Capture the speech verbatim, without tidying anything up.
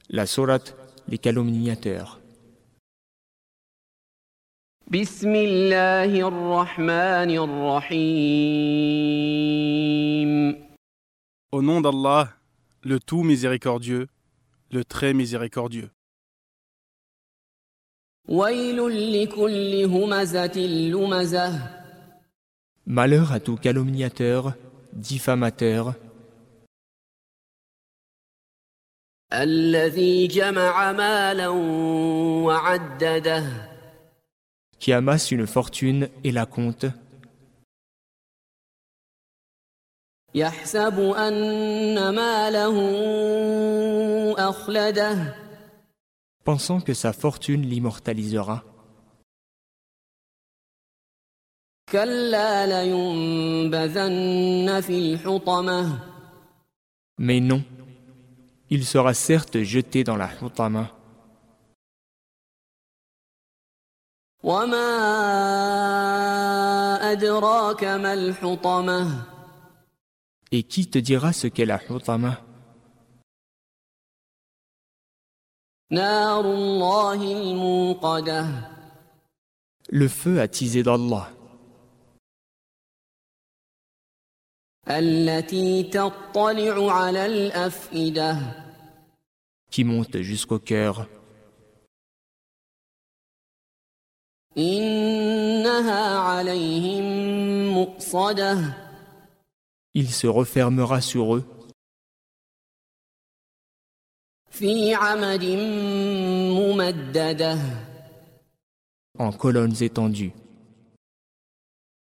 La sourate Les calomniateurs. بسم الله الرحمن الرحيم. Au nom d'Allah, le tout miséricordieux, le très miséricordieux. ويل لكل همزة لمزة. Malheur à tout calomniateur, diffamateur, الذي جمع مالا وعدده. qui amasse une fortune et la compte, يحسب أن ماله أخلده. pensant que sa fortune l'immortalisera. كلا لينبذن في الحطمة. Mais non, il sera certes jeté dans la hutama. وما أدراك ما الحطمة. Et qui te dira ce qu'est la hutama? نار الله الموقدة. Le feu attisé d'Allah, التي تطلع على الأفئدة. qui monte jusqu'au cœur. إنها عليهم مؤصدة. Il se refermera sur eux في عمد ممددة. en colonnes étendues.